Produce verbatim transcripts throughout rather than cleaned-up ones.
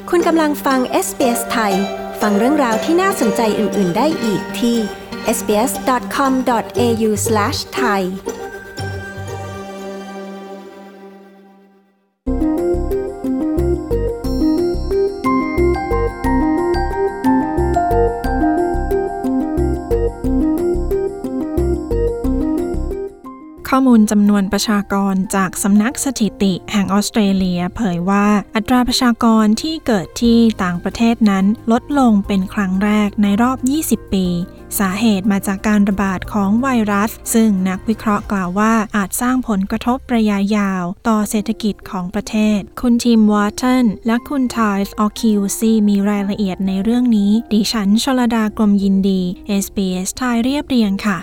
คุณกำลังฟัง เอส บี เอส ไทยฟังเรื่องราวที่น่าสนใจอื่นๆได้อีกที่ เอส บี เอส ดอท คอม ดอท เอ ยู สแลช ไทยข้อมูลจำนวนประชากรจากสำนักสถิติแห่งออสเตรเลียเผยว่าอัตราประชากรที่เกิดที่ต่างประเทศนั้นลดลงเป็นครั้งแรกในรอบยี่สิบปีสาเหตุมาจากการระบาดของไวรัสซึ่งนักวิเคราะห์กล่าวว่าอาจสร้างผลกระทบระยะยาวต่อเศรษฐกิจของประเทศคุณทีมวอร์ตันและคุณไทส์ออคิวซีมีรายละเอียดในเรื่องนี้ดิฉันชลดากรมยินดี เอส บี เอส ไทยเรียบเรียงค่ะ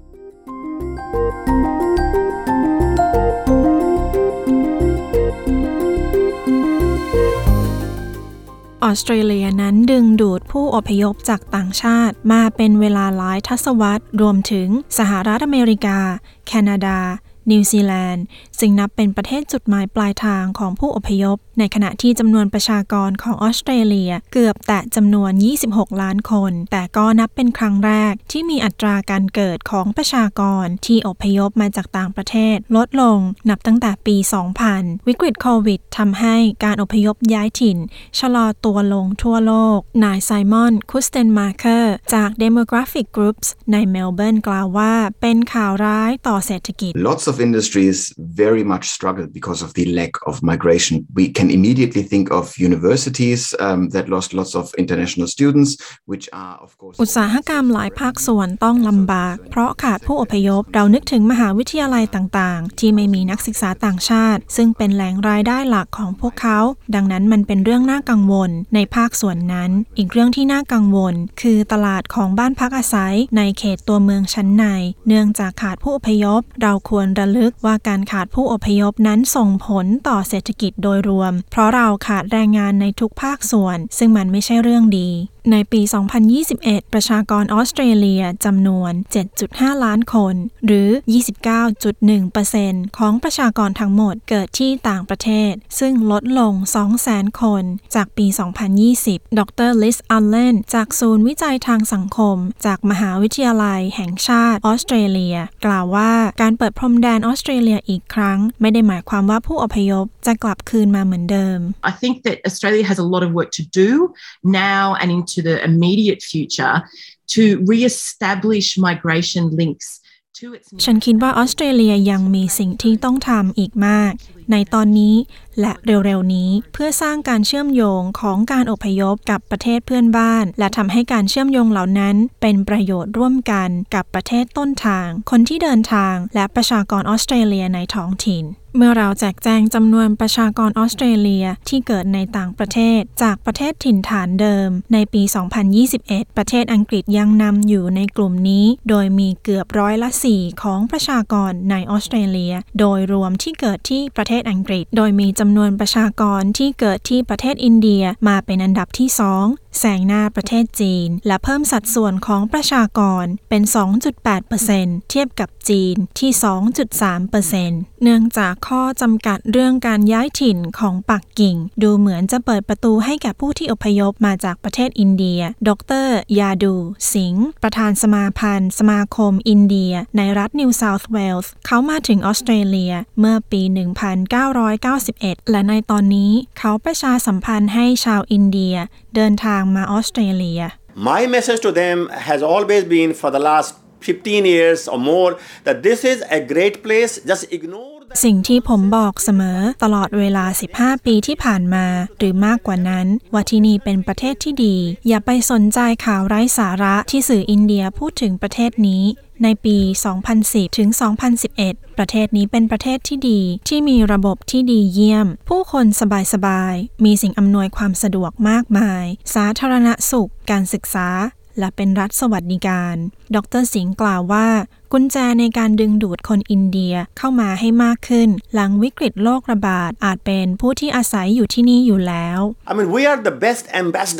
ออสเตรเลียนั้นดึงดูดผู้อพยพจากต่างชาติมาเป็นเวลาหลายทศวรรษรวมถึงสหรัฐอเมริกาแคนาดานิวซีแลนด์ซึ่งนับเป็นประเทศจุดหมายปลายทางของผู้อพยพในขณะที่จำนวนประชากรของออสเตรเลียเกือบแตะจำนวนยี่สิบหกล้านคนแต่ก็นับเป็นครั้งแรกที่มีอัตราการเกิดของประชากรที่อพยพมาจากต่างประเทศลดลงนับตั้งแต่ปี สองพัน วิกฤตโควิดทำให้การอพยพย้ายถิ่นชะลอตัวลงทั่วโลกนายไซมอนคุสเตนมาร์เคอร์จาก Demographic Groups ในเมลเบิร์นกล่าวว่าเป็นข่าวร้ายต่อเศรษฐกิจ Lots of industries very much struggle because of the lack of migration. We can immediately think of universities um, that lost lots of international students, which are of course อุตสาหกรรมหลายภาคส่วนต้องลำบากเพราะขาดผู้อพยพเรานึกถึงมหาวิทยาลัยต่างๆที่ไม่มีนักศึกษาต่างชาติซึ่งเป็นแหล่งรายได้หลักของพวกเขาดังนั้นมันเป็นเรื่องน่ากังวลในภาคส่วนนั้นอีกเรื่องที่น่ากังวลคือตลาดของบ้านพักอาศัยในเขตตัวเมืองชั้นในเนื่องจากขาดผู้อพยพเราควรระลึกว่าการขาดผู้อพยพนั้นส่งผลต่อเศรษฐกิจโดยรวมเพราะเราขาดแรงงานในทุกภาคส่วนซึ่งมันไม่ใช่เรื่องดีในปี สองพันยี่สิบเอ็ด ประชากรออสเตรเลียจำนวน เจ็ดจุดห้า ล้านคนหรือ ยี่สิบเก้าจุดหนึ่งเปอร์เซ็นต์ ของประชากรทั้งหมดเกิดที่ต่างประเทศซึ่งลดลง สองแสน คนจากปี สองพันยี่สิบ ดร. ลิซ อัลเลนจากศูนย์วิจัยทางสังคมจากมหาวิทยาลัยแห่งชาติออสเตรเลียกล่าวว่าการเปิดพรมแดนออสเตรเลียอีกครั้งไม่ได้หมายความว่าผู้อพยพจะกลับคืนมาเหมือนเดิม I think that Australia has a lot of work to do now and into the immediate future to re-establish migration links to its ฉันคิดว่าออสเตรเลียยังมีสิ่งที่ต้องทำอีกมากในตอนนี้และเร็วๆนี้เพื่อสร้างการเชื่อมโยงของการอพยพกับประเทศเพื่อนบ้านและทำให้การเชื่อมโยงเหล่านั้นเป็นประโยชน์ร่วมกันกับประเทศต้นทางคนที่เดินทางและประชากรออสเตรเลียในท้องถิ่นเมื่อเราแจกแจงจำนวนประชากรออสเตรเลียที่เกิดในต่างประเทศจากประเทศถิ่นฐานเดิมในปี สองพันยี่สิบเอ็ด ประเทศอังกฤษยังนำอยู่ในกลุ่มนี้โดยมีเกือบร้อยละสี่ของประชากรในออสเตรเลียโดยรวมที่เกิดที่ประเทศอังกฤษโดยมีจำนวนประชากรที่เกิดที่ประเทศอินเดียมาเป็นอันดับที่สองแซงหน้าประเทศจีนและเพิ่มสัดส่วนของประชากรเป็น สองจุดแปดเปอร์เซ็นต์ เทียบกับจีนที่ สองจุดสามเปอร์เซ็นต์ เนื่องจากข้อจำกัดเรื่องการย้ายถิ่นของปักกิ่งดูเหมือนจะเปิดประตูให้แก่ผู้ที่อพยพมาจากประเทศอินเดียดร.ยาดูสิงห์ประธานสมาพันธ์สมาคมอินเดียในรัฐนิวเซาท์เวลส์เขามาถึงออสเตรเลียเมื่อปี หนึ่งพันเก้าร้อยเก้าสิบเอ็ด และในตอนนี้เขาประชาสัมพันธ์ให้ชาวอินเดียเดินทางมาออสเตรเลีย My message to them has always been for the last fifteen years or more that this is a great place just ignore สิ่งที่ผมบอกเสมอตลอดเวลาสิบห้าปีที่ผ่านมาหรือมากกว่านั้นว่าที่นี่เป็นประเทศที่ดีอย่าไปสนใจข่าวไร้สาระที่สื่ออินเดียพูดถึงประเทศนี้ในปี สองพันสิบ ถึง สองพันสิบเอ็ด ประเทศนี้เป็นประเทศที่ดีที่มีระบบที่ดีเยี่ยมผู้คนสบายๆมีสิ่งอำนวยความสะดวกมากมายสาธารณสุขการศึกษาและเป็นรัฐสวัสดิการดร.สิงห์กล่าวว่ากุญแจในการดึงดูดคนอินเดียเข้ามาให้มากขึ้นหลังวิกฤตโรคระบาดอาจเป็นผู้ที่อาศัยอยู่ที่นี่อยู่แล้ว I mean we are the best ambassadors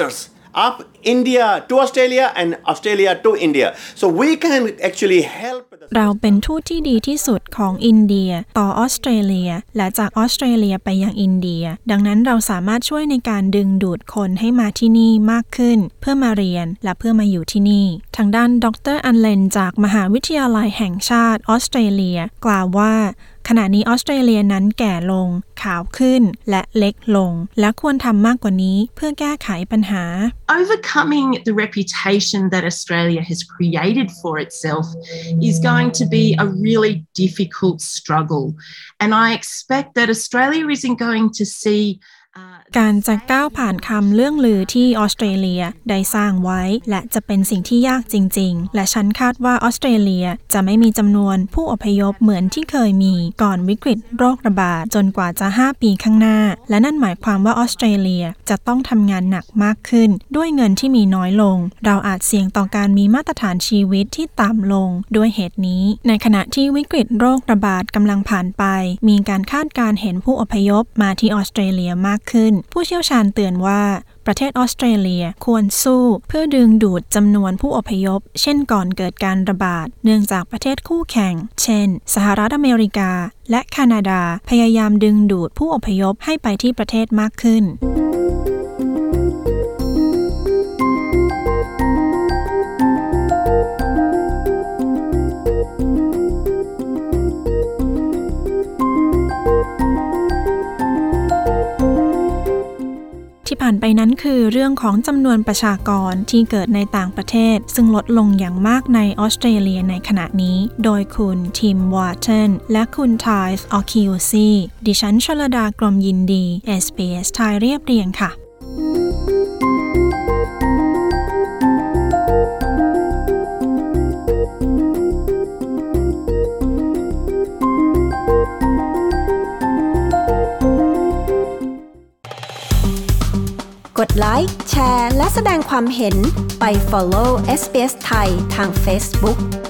of India to Australia and Australia to India. So we can actually help. เราเป็นทูตที่ดีที่สุดของอินเดียต่อออสเตรเลียและจากออสเตรเลียไปยังอินเดียดังนั้นเราสามารถช่วยในการดึงดูดคนให้มาที่นี่มากขึ้นเพื่อมาเรียนและเพื่อมาอยู่ที่นี่ทางด้านดรอันเลนจากมหาวิทยาลัยแห่งชาติออสเตรเลียกล่าวว่าขณะนี้ออสเตรเลียนั้นแก่ลงขาวขึ้นและเล็กลงและควรทำมากกว่านี้เพื่อแก้ไขปัญหา Overcoming the reputation that Australia has created for itself is going to be a really difficult struggle, and I expect that Australia isn't going to see การจะก้าวผ่านคำเรื่องลือที่ออสเตรเลียได้สร้างไว้และจะเป็นสิ่งที่ยากจริงๆและฉันคาดว่าออสเตรเลียจะไม่มีจำนวนผู้อพยพเหมือนที่เคยมีก่อนวิกฤตโรคระบาดจนกว่าจะห้าปีข้างหน้าและนั่นหมายความว่าออสเตรเลียจะต้องทำงานหนักมากขึ้นด้วยเงินที่มีน้อยลงเราอาจเสี่ยงต่อการมีมาตรฐานชีวิตที่ต่ำลงด้วยเหตุนี้ในขณะที่วิกฤตโรคระบาดกำลังผ่านไปมีการคาดการณ์เห็นผู้อพยพมาที่ออสเตรเลียมากขึ้นผู้เชี่ยวชาญเตือนว่าประเทศออสเตรเลียควรสู้เพื่อดึงดูดจำนวนผู้อพยพเช่นก่อนเกิดการระบาดเนื่องจากประเทศคู่แข่งเช่นสหรัฐอเมริกาและแคนาดาพยายามดึงดูดผู้อพยพให้ไปที่ประเทศมากขึ้นที่ผ่านไปนั้นคือเรื่องของจำนวนประชากรที่เกิดในต่างประเทศซึ่งลดลงอย่างมากในออสเตรเลียในขณะนี้โดยคุณทิมวอร์เทนและคุณไทส์ออคิวซีดิฉันชลดากรมยินดี เอส บี เอส ไทยเรียบเรียงค่ะกดไลค์แชร์และแสดงความเห็นไป follow เอส บี เอส ไทยทาง Facebook